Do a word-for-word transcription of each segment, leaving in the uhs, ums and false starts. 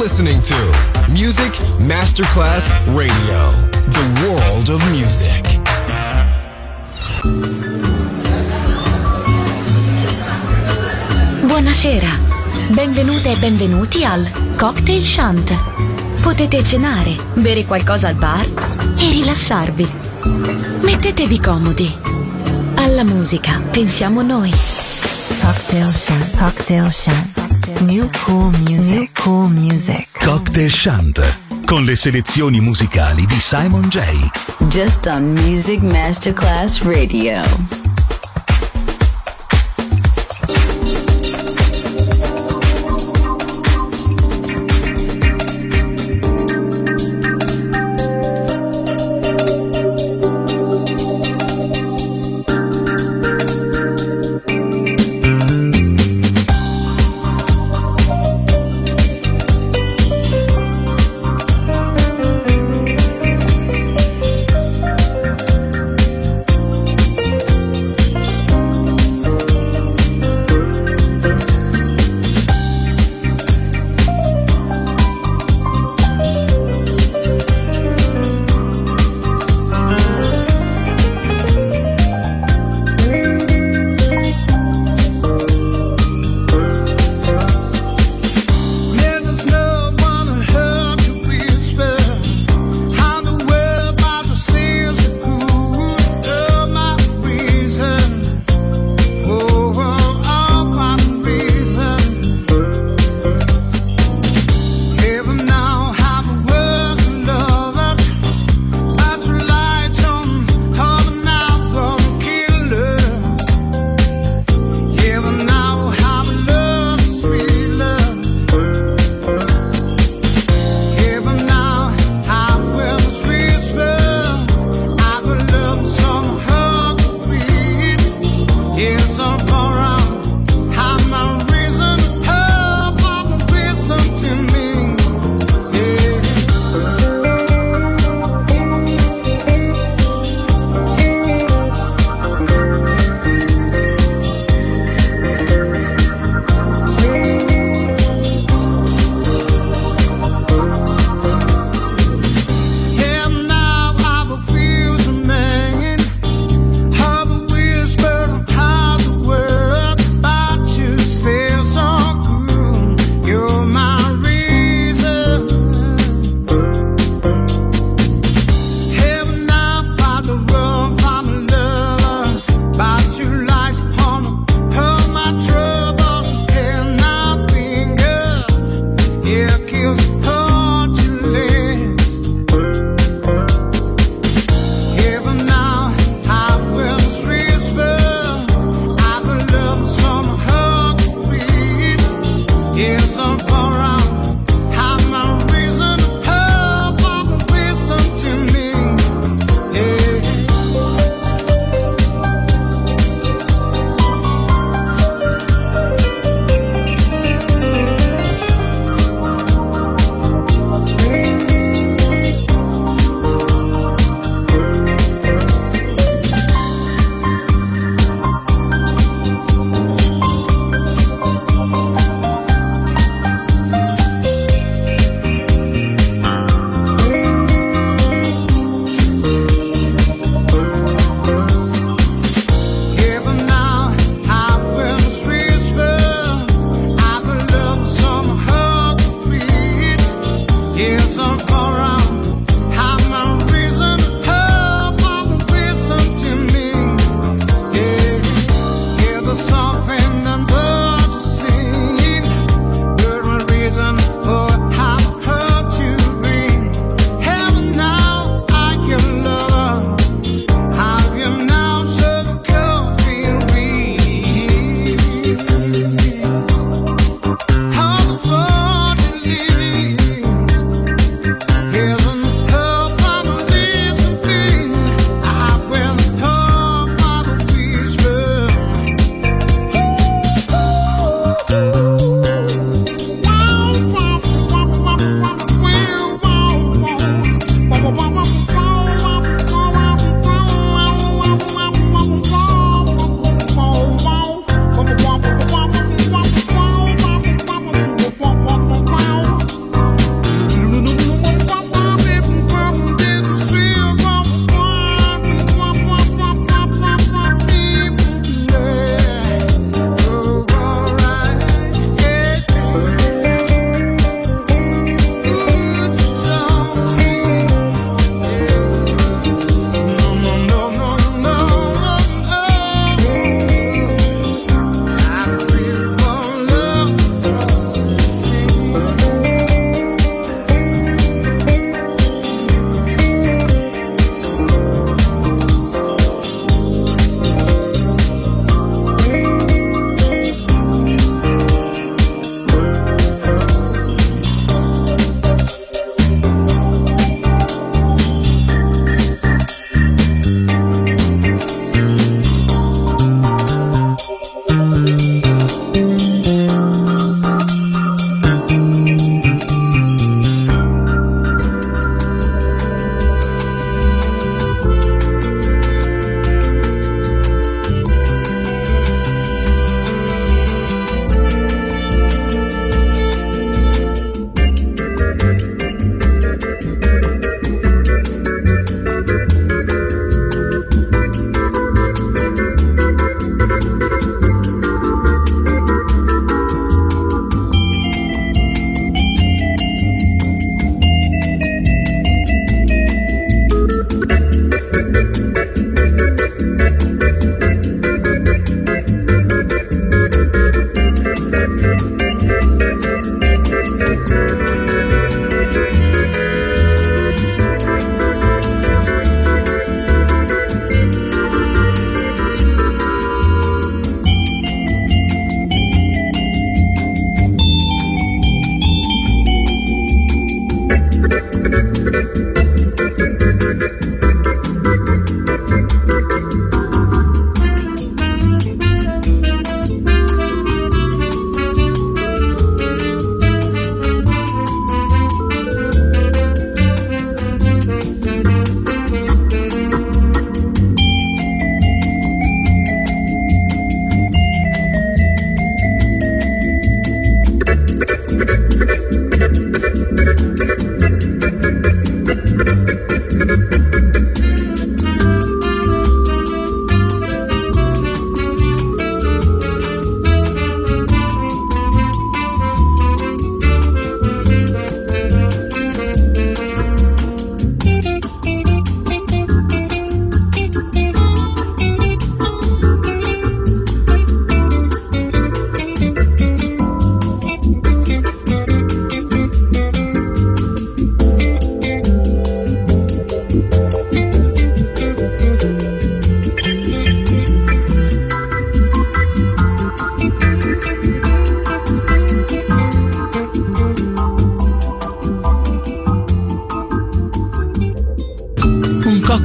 listening to Music Masterclass Radio, the world of music. Buonasera, benvenute e benvenuti al Cocktail Shant. Potete cenare, bere qualcosa al bar e rilassarvi. Mettetevi comodi. Alla musica pensiamo noi. Cocktail Shant, Cocktail Shant. New cool music, New cool music. Cocktail Shant, con le selezioni musicali di Simon J. Just on Music Masterclass Radio.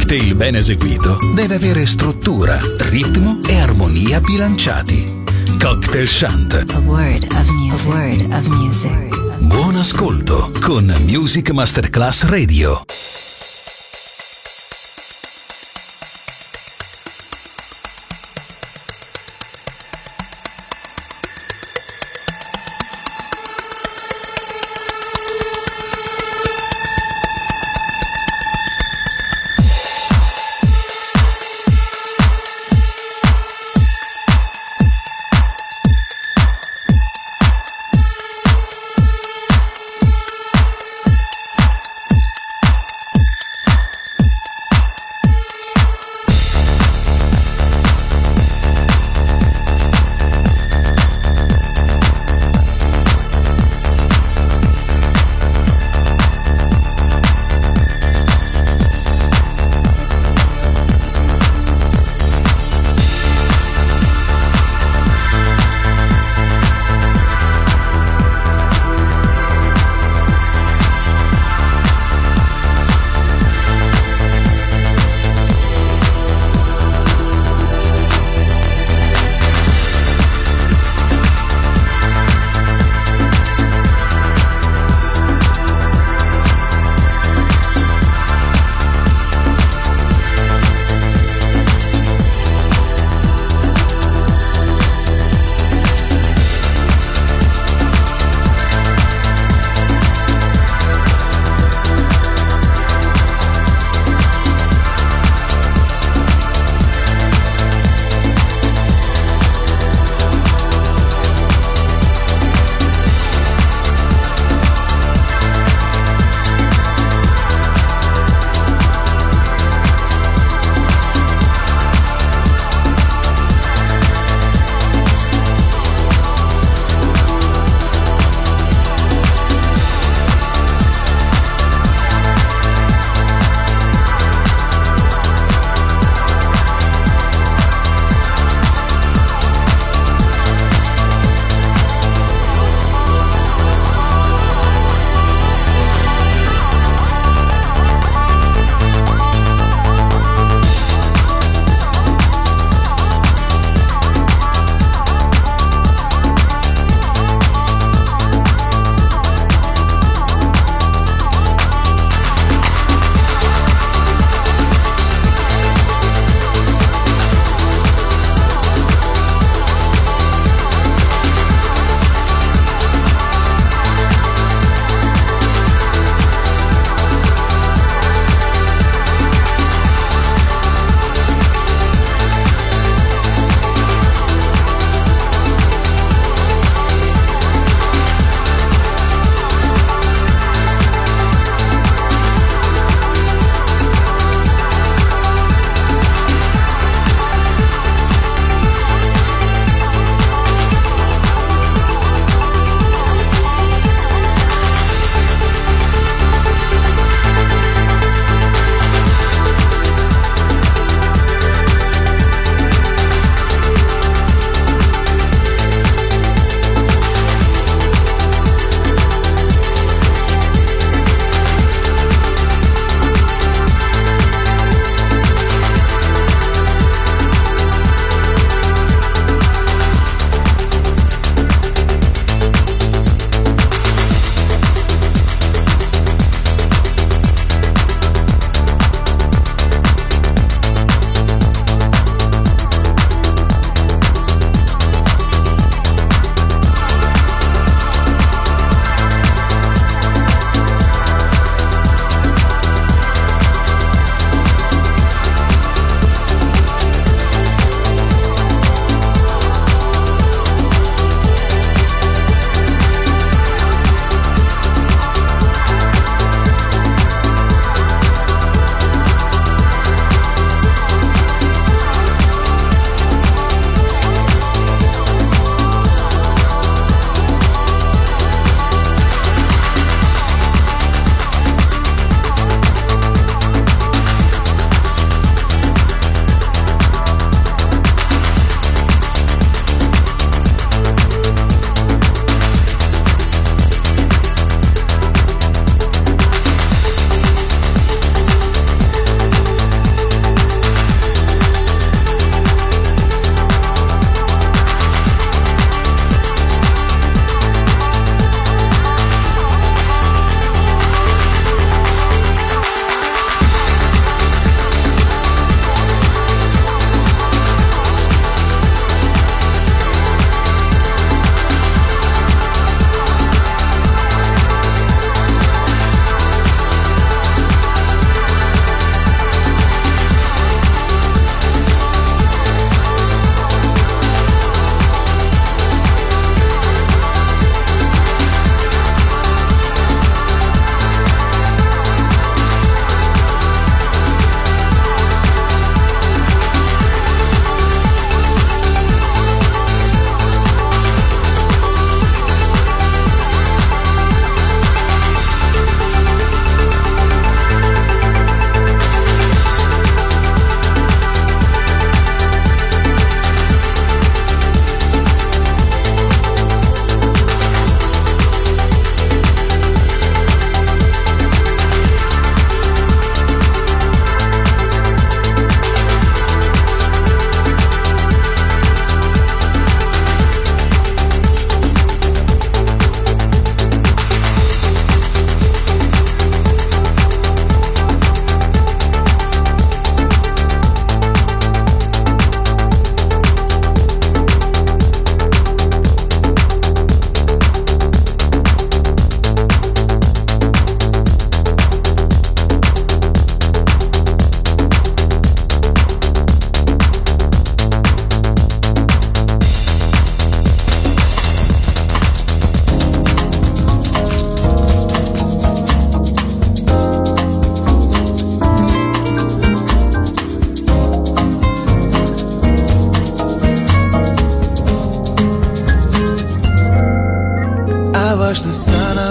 cocktail ben eseguito deve avere struttura, ritmo e armonia bilanciati. Cocktail Chant. A word of music. A word of music. Buon ascolto con Music Masterclass Radio.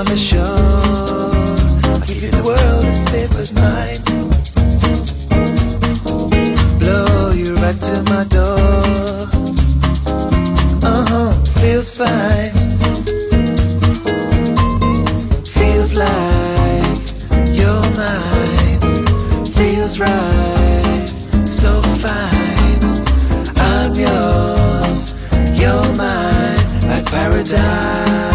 on the shore. I'll give you the world if it was mine. Blow you right to my door. Uh-huh, feels fine. Feels like you're mine. Feels right, so fine. I'm yours, you're mine, like paradise.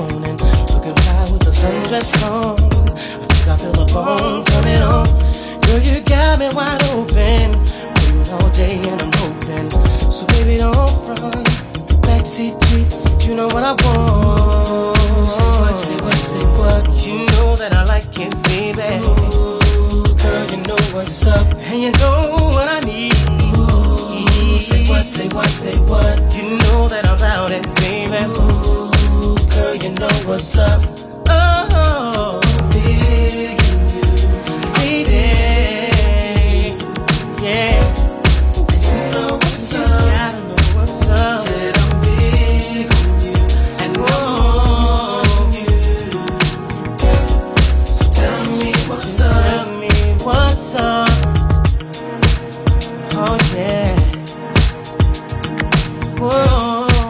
Sundress on, I think I feel a bone coming on. Girl, you got me wide open, waiting all day and I'm hoping. So baby, don't front, backseat G, you know what I want. Say what, say what, say what, you know that I like it, baby. Ooh, girl, you know what's up, and you know what I need. Ooh, say what, say what, say what, you know that I'm about it, baby. Ooh, girl, you know what's up. Oh, big in you, baby. Yeah. And you know what's up. You gotta know what's up. Said I'm big on you and on you. So tell me what's up. Tell me what's up. Oh yeah. Whoa.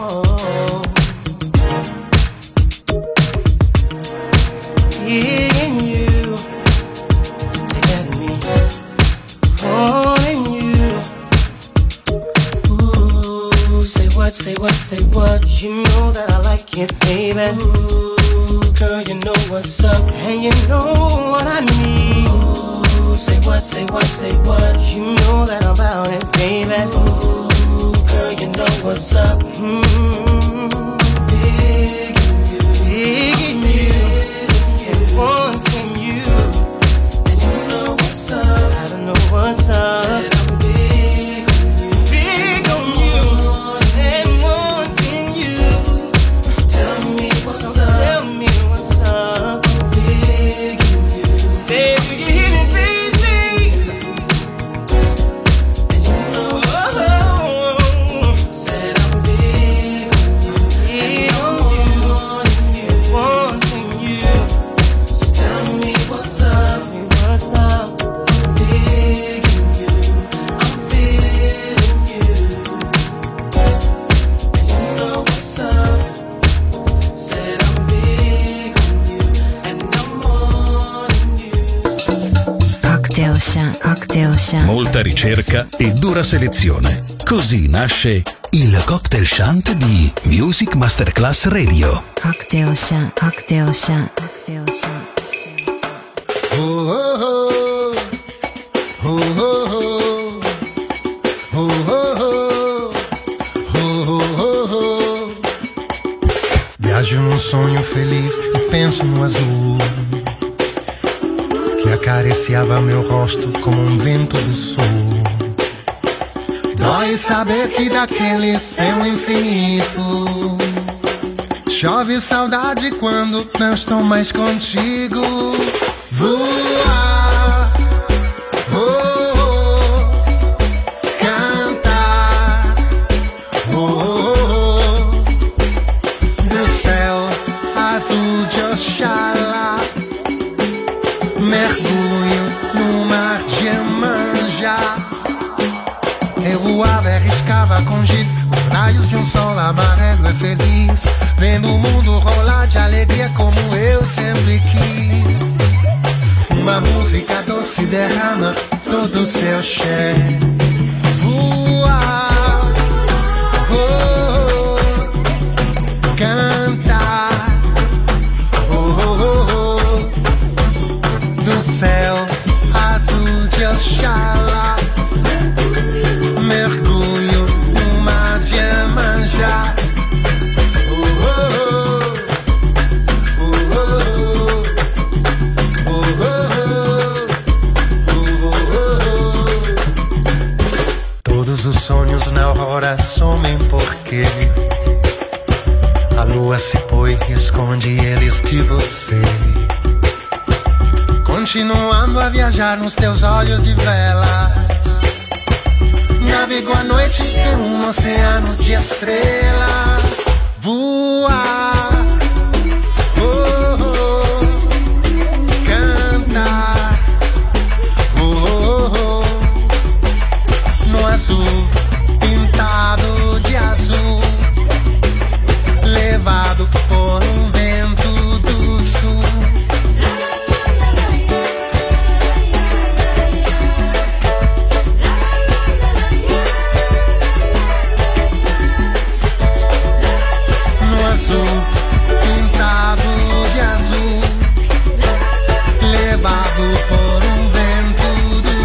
Digging you, they got me wanting you. Ooh, say what, say what, say what, you know that I like it, baby. Ooh, girl, you know what's up, and you know what I need. Ooh, say what, say what, say what, you know that I'm about it, baby. Ooh, girl, you know what's up. Mm-hmm. Digging you, digging you. Wanting you, and you know what's up. I don't know what's up. Said I'm big on you, big on you, and wanting you. Tell me what's up. Tell me what's up. Big on you. Say you can hear me, baby. And you know what's up. Said I'm big on you, big on you, wanting you. Tell me what's up, me what's up. I'm digging you, I'm feeling you. And you know what's up. Said I'm big on you and I'm wanting you. Cocktail Chant, Cocktail Chant. Molta ricerca e dura selezione. Così nasce il Cocktail Chant di Music Masterclass Radio. Cocktail Chant, Cocktail Chant, Cocktail Chant. Oh, oh, oh, oh, oh, oh, oh, oh, oh. Viaggio num sonho feliz e penso no azul que acariciava meu rosto como um vento do sul. Dói saber que daquele céu infinito chove saudade quando não estou mais contigo. Voar, oh, oh, cantar, oh, oh, oh, do céu azul de Oxalá, mergulho no mar de Iemanjá. Eu voava e arriscava com giz os raios de um sol amarelo e feliz, vendo o mundo rolar de alegria como eu sempre quis. Uma música doce derrama todo o seu cheiro. Voar, oh, oh, cantar, oh, oh, oh, do céu azul de Oxalá, mergulho no mar de Iemanjá. Os sonhos na aurora somem porque a lua se põe e esconde eles de você. Continuando a viajar nos teus olhos de velas, navigo a noite em um oceano de estrelas. Voar, oh, oh, cantar, oh, oh, oh, no azul pintado de azul, levado por um vento do sul. No azul pintado de azul, levado por um vento do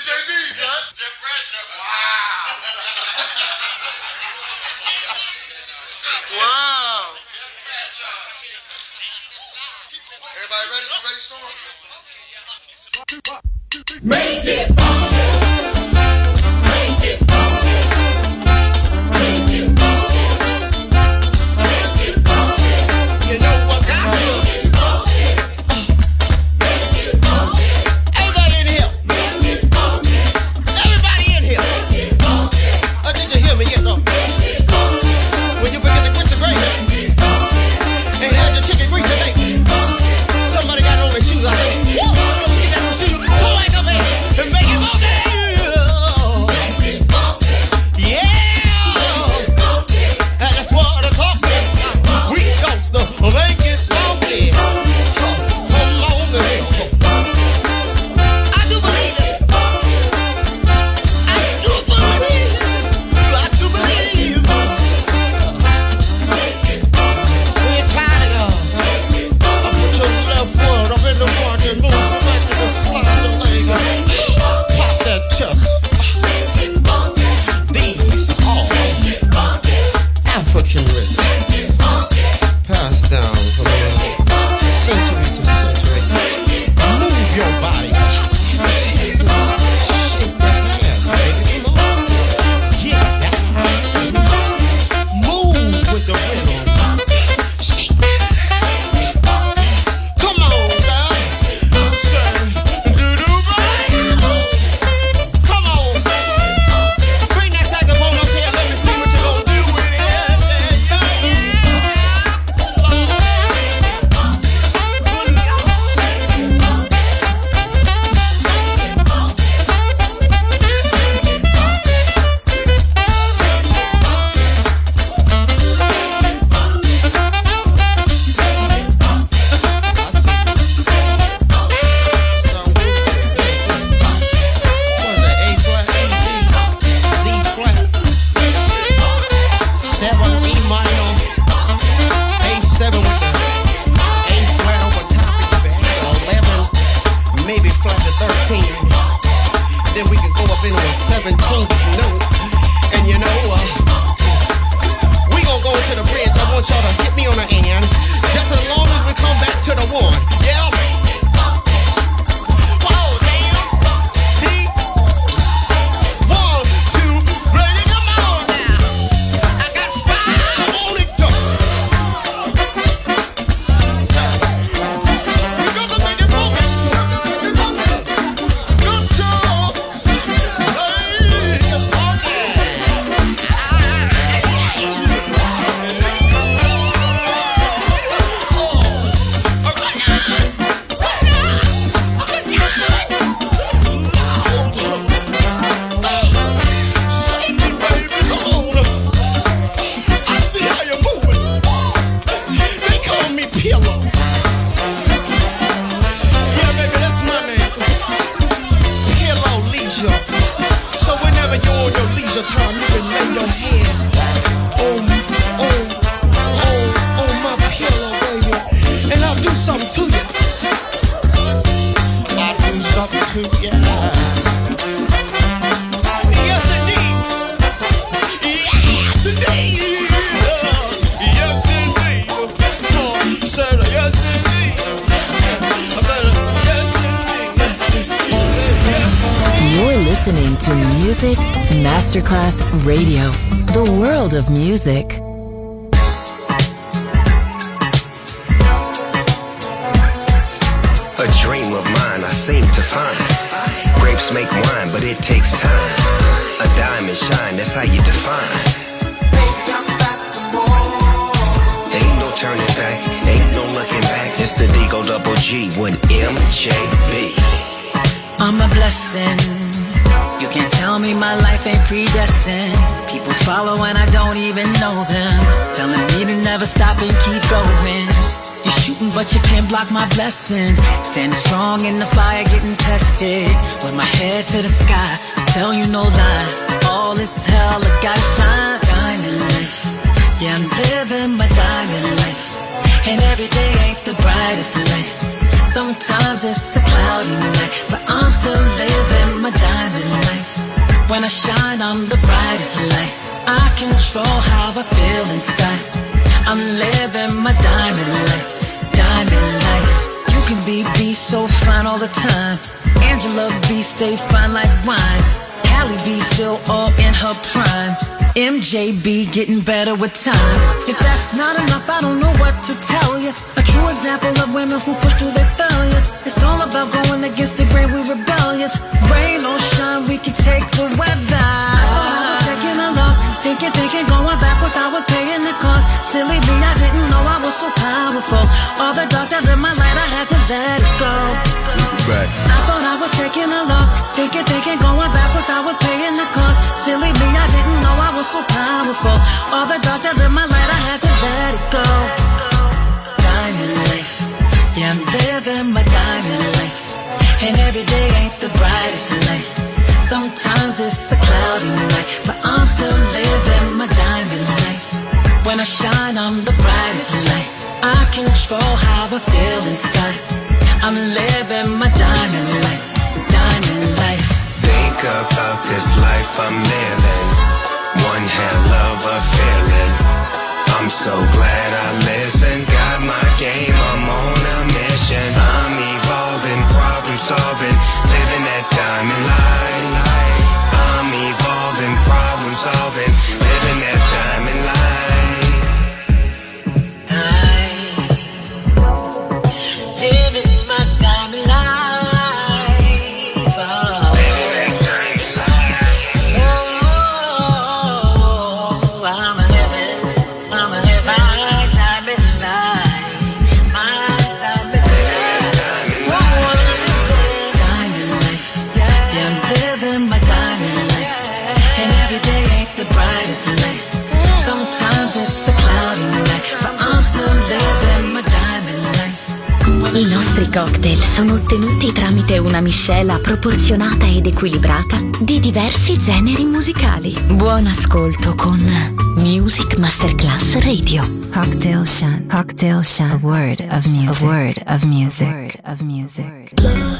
J B, huh? Jeff Pressure. Wow. Wow. Everybody ready? You ready, Storm? Make it funky. Make it funky. Make it funky. Make it funky. You know what I feel? Make it funky. Make it funky. Everybody in here. Make it funky. Everybody in here. Make it funky. Oh, did you hear me yet, though? Make it funky. When you forget to quit the grade. Make it funky. And had your chicken grease today. Make it funky. Somebody got on their shoes. I said, woo! Get that on shoes. Come on, come in and make it funky. Make it funky. Yeah. And that's what I'm talking about. We got to make it funky. Come on, man. I do believe it. I do believe. I do believe. We're tired of y'all. I put your left foot up in the front and move back to the slide the leg. Pop that chest. These are African rhythms. Pass down from century to century. Move your body. Shake that ass, baby. Come on. Get that. Move with the rhythm. Shake that. Come on, girl. Say, do-do, baby. Come on. Bring that saxophone up here. Let me see what you're gonna do with it. Then we can go up into a seventeenth note. And you know, uh, we gonna go to the bridge. I want y'all to hit me on the end. Just as long as we come back to the one. Yeah. Whoa, damn. See? One, two, ready, come on now. I got five on it, though. We gonna make it funky. Good job. Pillow. Yeah, baby, that's my name. Pillow Leisure. So whenever you're on your leisure time, you can lay your head on, on, on, on my pillow, baby. And I'll do something to you. I'll do something to you. Yes, indeed. Yes, indeed. Yes, indeed. I said, yes, indeed. I said, yes, indeed. You're listening to Music Masterclass Radio, the world of music. A dream of mine I seem to find. Grapes make wine, but it takes time. A diamond shine, that's how you define. Ain't no turning back, ain't no looking back. It's the Digo Double G with M J B. I'm a blessing. You can't tell me my life ain't predestined. People follow and I don't even know them, telling me to never stop and keep going. You're shooting but you can't block my blessing. Standing strong in the fire, getting tested. With my head to the sky, tell you no lies. All this is hell, I gotta shine. Diamond life, yeah, I'm living my diamond life. And every day ain't the brightest light. Sometimes it's a cloudy night, but I'm still living my my diamond life. When I shine, I'm the brightest light. I control how I feel inside. I'm living my diamond life, diamond life. You can be B so fine all the time. Angela B stay fine like wine. Halle B still all in her prime. M J B getting better with time. If that's not enough, I don't know what to tell you. A true example of women who push through their failures. It's all about going against the grain, we rebellious. Rain or shine, we can take the weather. I thought I was taking a loss, stinking, thinking, going backwards, I was paying the cost. Silly me, I didn't know I was so powerful. All the dark that lit my light, I had to let it go. Right. I thought I was taking a loss, stinking, thinking, going backwards, I was paying the cost. Silly me, I didn't know I was so powerful. All the dark that lit my light, I had to let it go. Diamond life, yeah, I'm living my diamond life. And every day ain't the brightest light. Sometimes it's a cloudy night, but I'm still living my diamond life. When I shine, I'm the brightest light. I control how I feel inside. I'm living my diamond life, diamond life. Think about this life I'm living. One hell of a feeling. I'm so glad I listened. Got my game, I'm on a mission. I'm evolving, problem solving, living that diamond life. I'm evolving, problem solving, living that diamond life. I nostri cocktail sono ottenuti tramite una miscela proporzionata ed equilibrata di diversi generi musicali. Buon ascolto con Music Masterclass Radio. Cocktail Shant. Cocktail Shant. A word of music. A word of music. A word of music.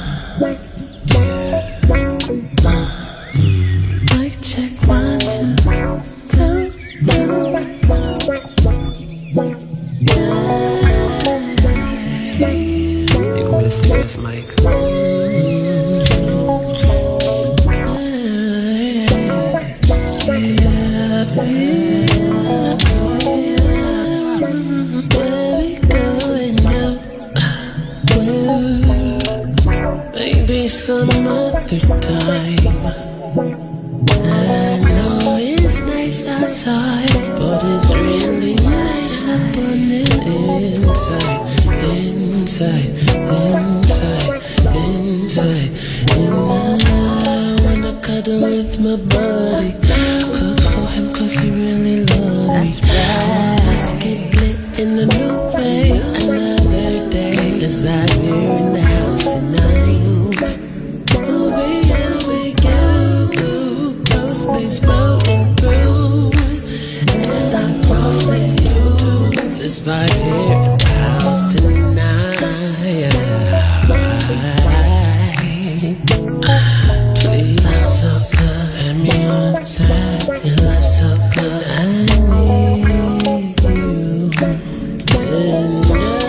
Mic check one, two, two, two. Listen to this mic. Maybe some other time. I know it's nice outside, but it's really nice up on the inside, inside, inside, inside. And I wanna cuddle with my buddy, cook for him cause he really loves me. That's right. Let's get lit in a new way, another day. Let's vibe here in the house tonight. We'll be here with you, no space floating through, and I'm rolling through. Let's vibe here in the house tonight. Please, love so good, have me on a time. Your love so good, I need you. And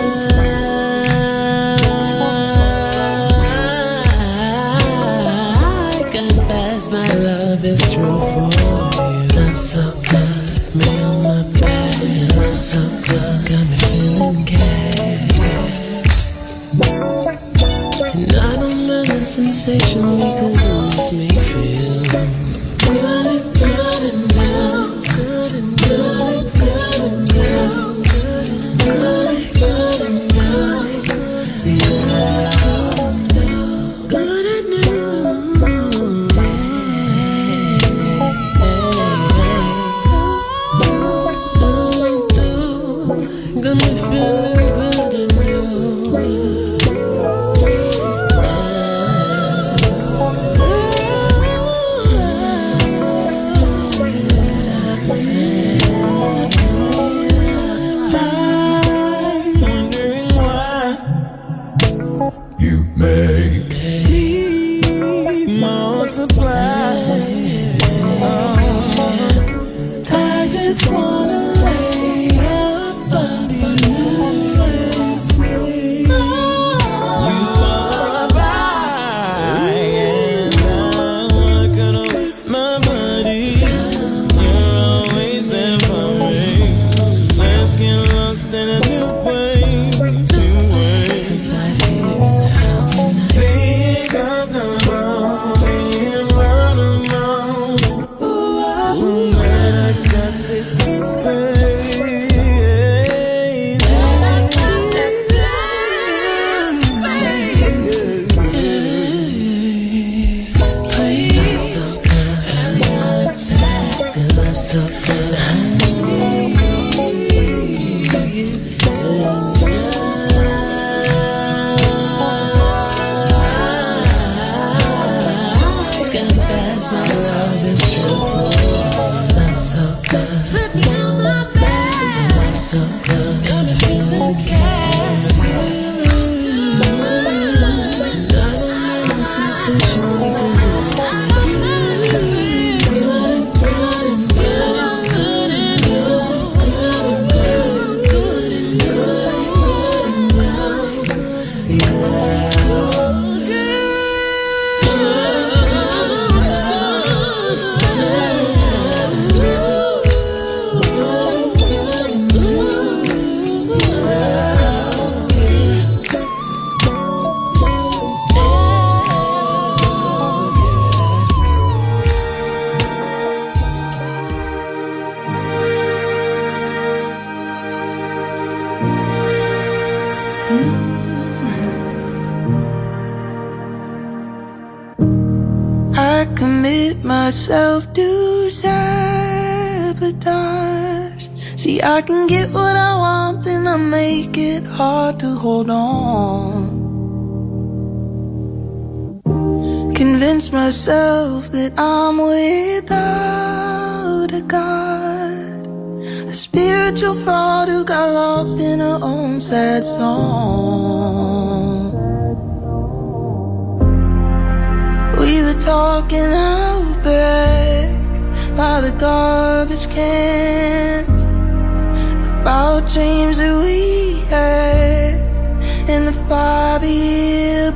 I confess my love is true for you. Love so good, me on my bed. Your love so good, got me feeling gas. And I don't mind the sensation because it makes me feel good and good and good, good and good and good and good, good and good and good, good and good. Got me feeling good and new. Myself to sabotage. See, I can get what I want, then I make it hard to hold on. Convince myself that I'm without a God, a spiritual fraud who got lost in her own sad song. We were talking out back by the garbage cans about dreams that we had in the five-year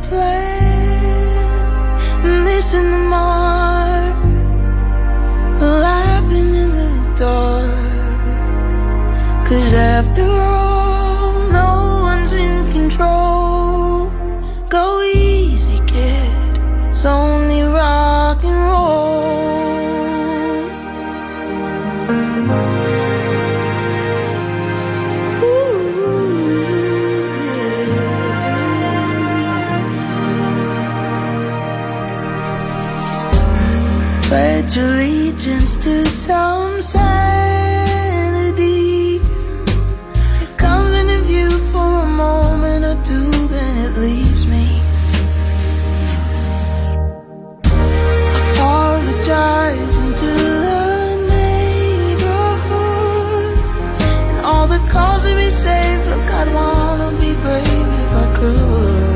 plan. Missing the mark, laughing in the dark. 'Cause after all, no one's in control. Go easy, kid, it's only rock and roll. Pledge allegiance to some sanity. It comes into view for a moment or two, then it leaves me. Apologizing to the neighborhood and all the calls to be saved. Look, I'd wanna be brave if I could.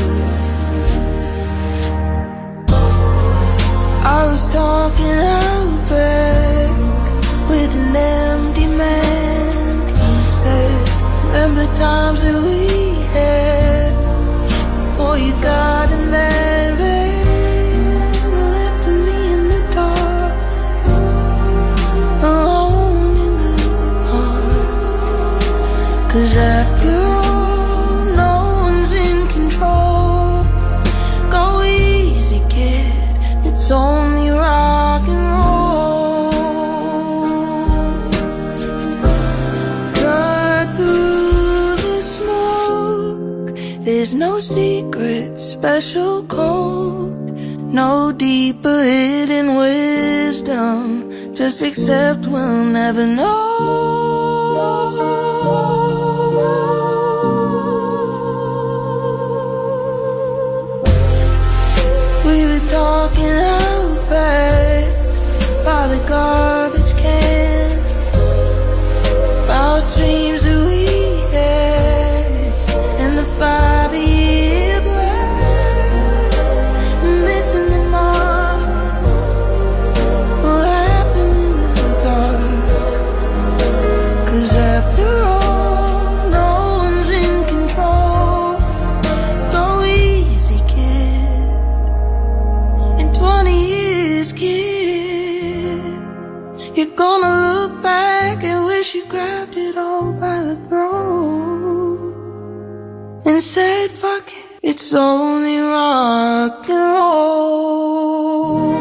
I was talking out back with an empty man. He said, remember times that we had before you got in that van, left me in the dark, alone in the park. 'Cause after all, no one's in control. Go easy, kid, it's only rock and roll. Cut through the smoke, there's no secret special code, no deeper hidden wisdom. Just accept we'll never know. We were talking out back by the garbage can about dreams that we had in the five-year plan. Missing the mark, laughing in the dark. 'Cause after all, no one's in control. Go easy, kid. In twenty years, kid, you're gonna look back and wish you grabbed it all by the throat and said, fuck it, it's only rock and roll.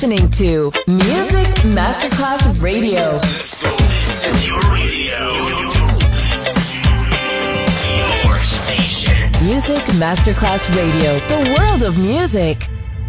listening to Music Masterclass Radio. Let's go. This is your radio. Your station. Music Masterclass Radio. The world of music.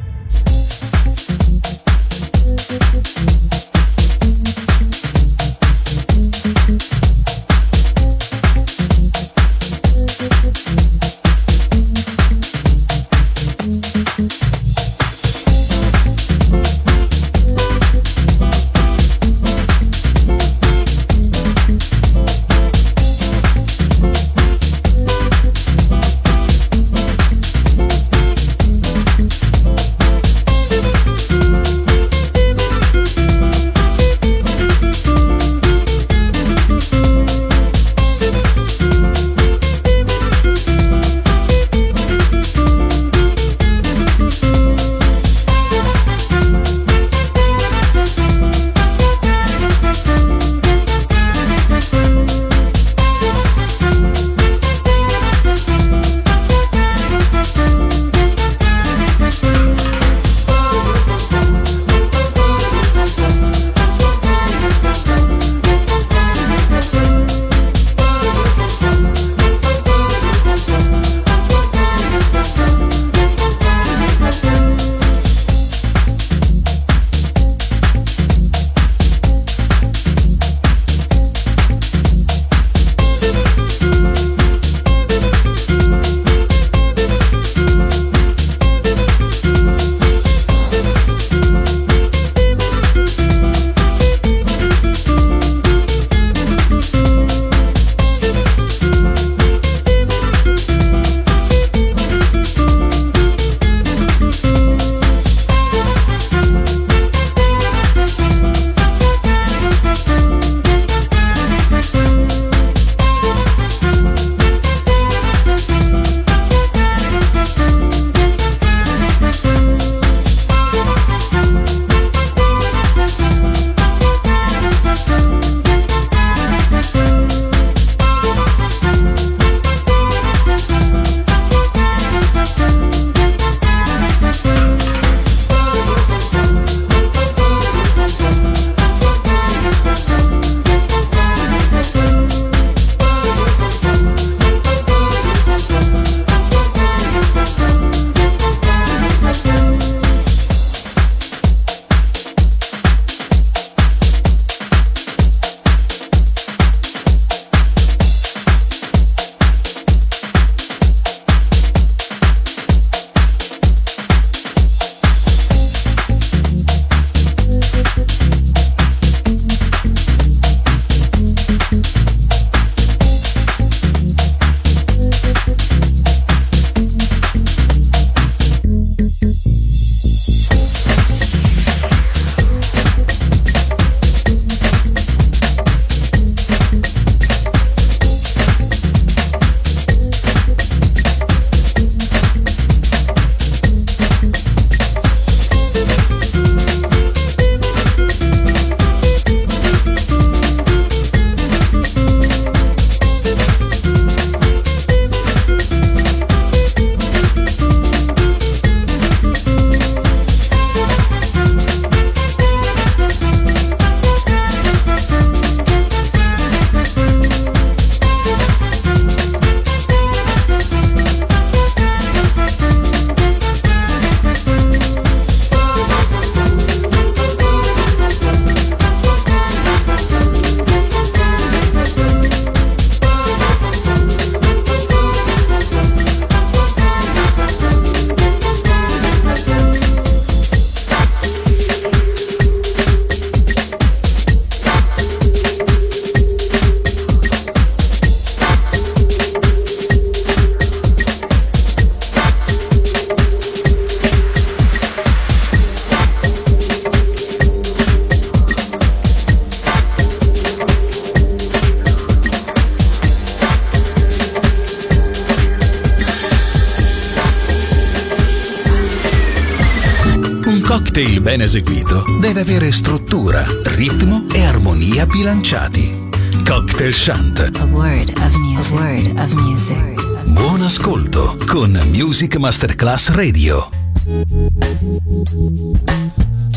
cocktail ben eseguito deve avere struttura, ritmo e armonia bilanciati. Cocktail Shant. A word of music. A word of music. Buon ascolto con Music Masterclass Radio.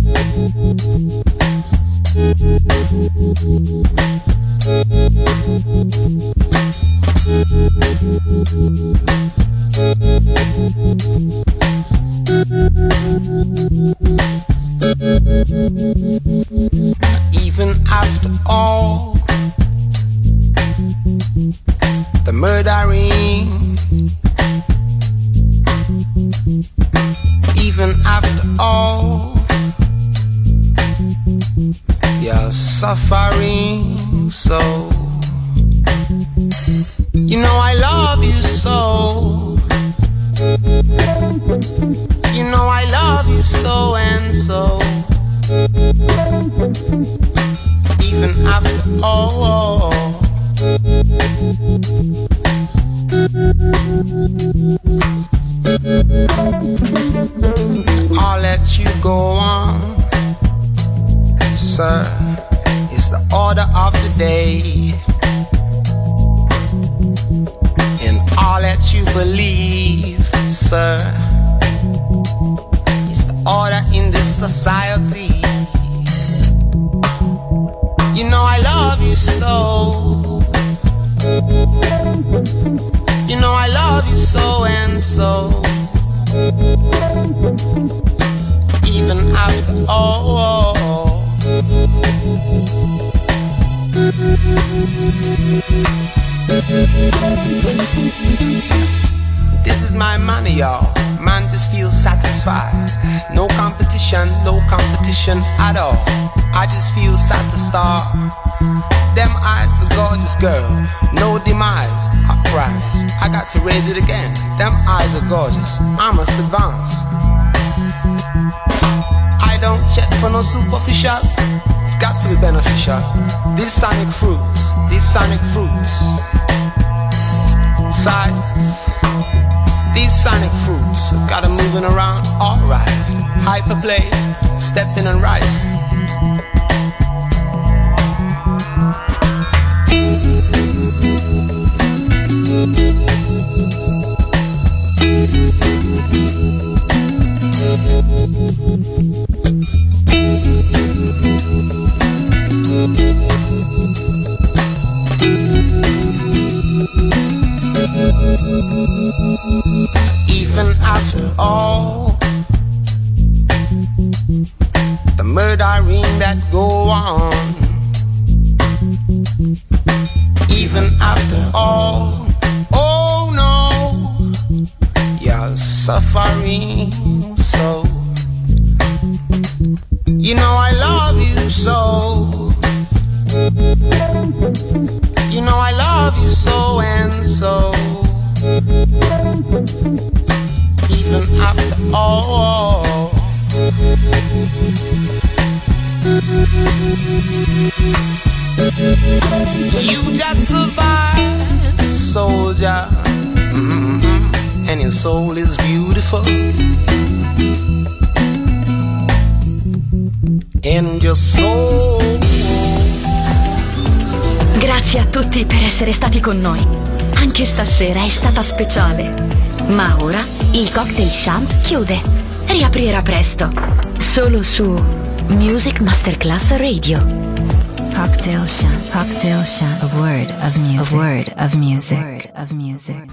Even after all the murdering, even after all your suffering, so you know I love you so. You know I love you so and so. Even after all, I'll let you go on, sir, is the order of the day. And I'll let you believe, sir, is the order in this society. You know I love you so. You know I love you so and so. Even after all, this is my money, y'all. Man just feels satisfied. No competition, no competition at all. I just feel satisfied. Them eyes, a gorgeous girl. No demise, uprise. I got to raise it again. Them eyes are gorgeous. I must advance. I don't check for no superficial. It's got to be beneficial. These sonic fruits, these sonic fruits. Sights. These sonic fruits got 'em moving around, alright. Hyperplay, stepping and rising. Even after all the murdering that go on, even after all, oh no, you're suffering so. You know I love you so. You know I love you so and so. Even after all, you just survived, soldier. Mm-hmm. And your soul is beautiful. And your soul. Grazie a tutti per essere stati con noi. Anche stasera è stata speciale. Ma ora il Cocktail Shant chiude. Riaprirà presto. Solo su Music Masterclass Radio. Cocktail Shant. Cocktail Shant. A word of music. A word of music. A word of music.